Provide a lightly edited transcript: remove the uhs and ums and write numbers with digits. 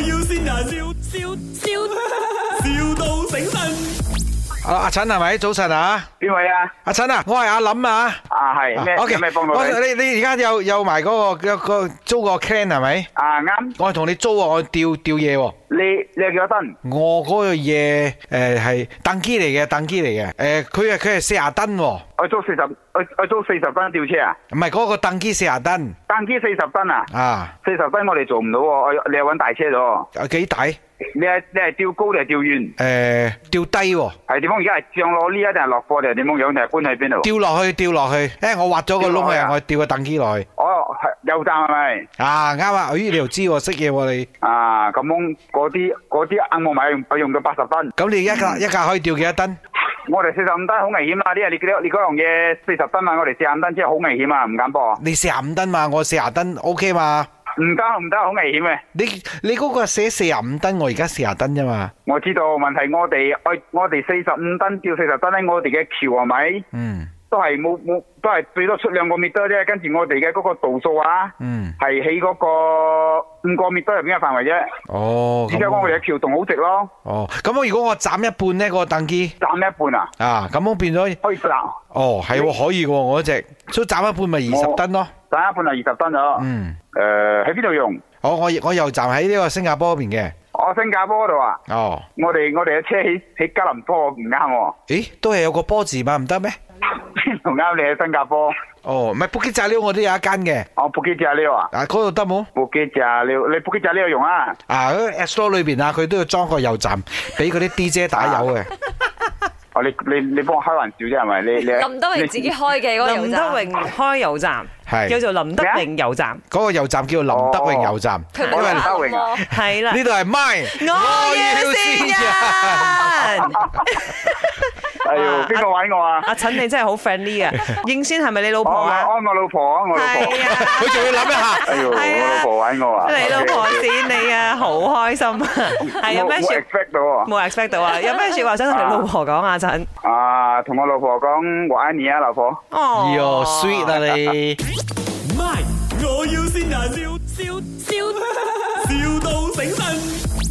要先人，笑到醒神。 阿陳係咪？早晨啊， 邊位啊？ 阿陳啊，我係阿林啊。 係咩？ OK， 有咩幫到你？ 你而家有埋嗰個租個 clan 係咪？ 啱。 我係同你租啊，我吊嘢喎。 你係幾多噸？ 我嗰個嘢係登機嚟嘅，佢係40噸喎。 我租40噸吊車啊？ 唔係嗰個登機40噸。 登機40噸啊？40噸我哋做唔到喎，你係揾大車咗。 幾大？ 你係吊高定係吊遠？ 吊低喎。 係點樣？而家係上攞呢一定係落貨定係點樣樣？定係搬去邊度？ 吊落去。我挖咗個窿啊，我吊個登機落去。 哦，係油站係咪？ 啱啊！咦，你又知喎，識嘢喎你。 咁樣嗰啲啱我買用到80噸。 咁你一架可以吊幾多噸？ 我哋45噸好危險啊！因為你嗰樣嘢40噸嘛，我哋45噸真係好危險啊，唔敢播。 你45噸嘛，我40噸 OK 嘛？ 唔得，好危險嘅。 你嗰個寫45噸，我而家40噸啫嘛。 我知道問題，我哋45噸吊40噸咧，我哋嘅橋係咪？都係冇，都係最多出2個米多啫。跟住我哋嘅嗰個度數啊，係喺嗰個5個米多入邊嘅範圍啫。 哦， 而且我哋嘅橋洞好直咯。 哦，咁如果我斬一半呢，嗰個登機斬一半啊？ 咁我變咗可以斬。 哦，係喎，可以喎，我嗰隻，所以斬一半咪20噸咯。 斬一半係20噸咗。喺邊度用？ 我油站喺呢個新加坡嗰邊嘅。 新加坡嗰度啊？我哋嘅車喺吉隆坡唔啱喎。 咦，都係有個波字嘛，唔得咩？ 邊度啱？你喺新加坡？ 唔係布基炸料，我都有一間嘅。 布基炸料啊？ 嗰度得冇？ 布基炸料，你布基炸料用啊？ 嗰個 App Store 裏邊啊，佢都要裝個油站，俾嗰啲 DJ 打油嘅。 你幫我開玩笑啫係咪？你林德榮自己開嘅嗰個油站。 林德榮開油站，叫做林德榮油站。 嗰個油站叫做林德榮油站。 佢冇林德榮啊？ 係啦。 呢度係 MY， 我要先人。 哎喲，邊個玩我啊？ 阿陳你真係好 friendly 啊！應先係咪你老婆啊？ 我老婆啊，我老婆。 係啊， 佢仲要諗一下。 哎喲，我老婆玩我啊！ 你老婆剪你啊，好開心啊！係有咩說？冇 expect 到啊！有咩說話想同你老婆講啊？陳同我老婆講我愛你啊，老婆。 喲 sweet 啊你。 MY，我要先人，笑到醒神。